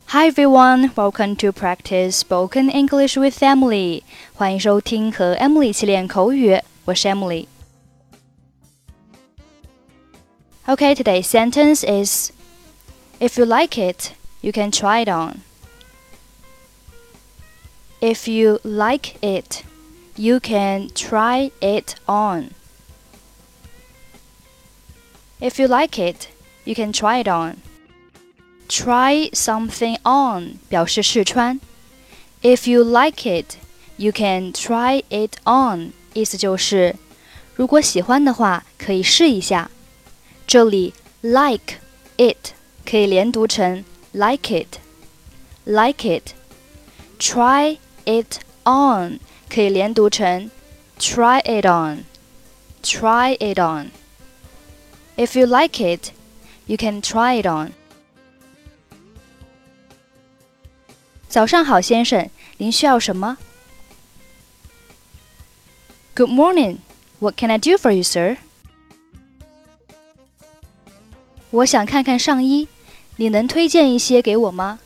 Hi everyone, welcome to practice spoken English with Emily. 欢迎收听和 Emily 一起练口语，我是 Emily. Okay, today's sentence is, if you like it, you can try it on. If you like it, you can try it on. If you like it, you can try it on.Try something on 表示试穿 If you like it, you can try it on 意思就是如果喜欢的话可以试一下这里 like it 可以连读成 like it Like it Try it on 可以连读成 try it on Try it on If you like it, you can try it on早上好，先生，您需要什么 Good morning. What can I do for you, sir? 我想看看上衣，你能推荐一些给我吗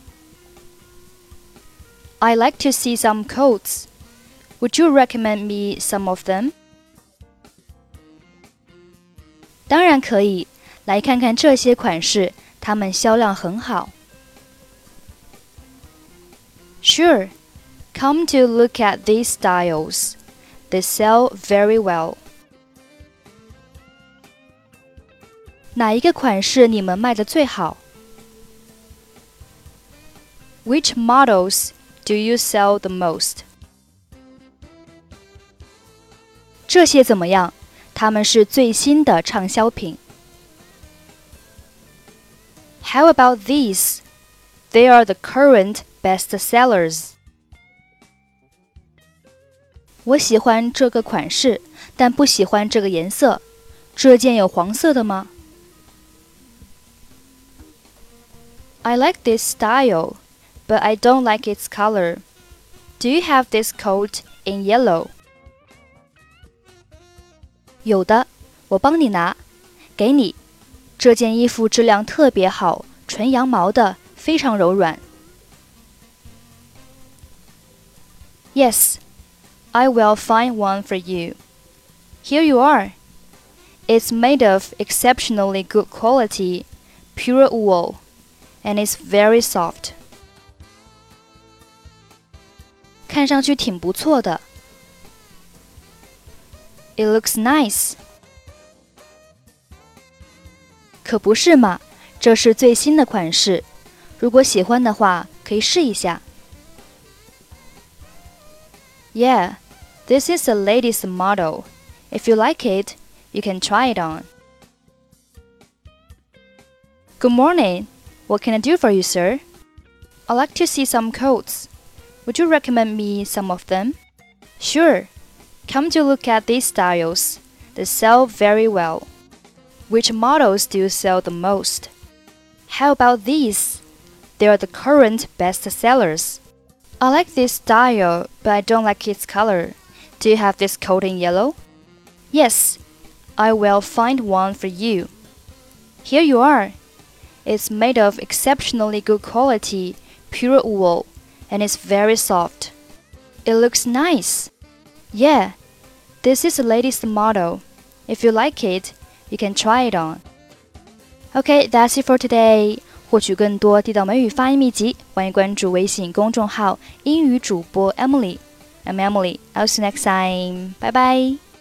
I like to see some coats. Would you recommend me some of them? 当然可以，来看看这些款式，它们销量很好。Sure, come to look at these styles. They sell very well. 哪一个款式你们卖得最好 Which models do you sell the most? 这些怎么样？它们是最新的畅销品。How about these? They are the current best sellers. 我喜欢这个款式，但不喜欢这个颜色。这件有黄色的吗 I like this style, but I don't like its color. Do you have this coat in yellow? 有的，我帮你拿。给你。这件衣服质量特别好，纯羊毛的，非常柔软。Yes, I will find one for you. Here you are. It's made of exceptionally good quality, pure wool, and it's very soft. 看上去挺不错的。It looks nice. 可不是嘛，这是最新的款式。如果喜欢的话，可以试一下。Yeah, this is the latest model. If you like it, you can try it on. Good morning. What can I do for you, sir? I'd like to see some coats. Would you recommend me some of them? Sure. Come to look at these styles. They sell very well. Which models do you sell the most? How about these? They are the current best sellers. I like this style, but I don't like its color. Do you have this coat in yellow? Yes, I will find one for you. Here you are. It's made of exceptionally good quality, pure wool, and it's very soft. It looks nice. Yeah, this is the latest model. If you like it, you can try it on. Okay, that's it for today. 获取更多地道美语发音秘籍，欢迎关注微信公众号英语主播 Emily. I'm Emily. I'll see you next time. Bye bye.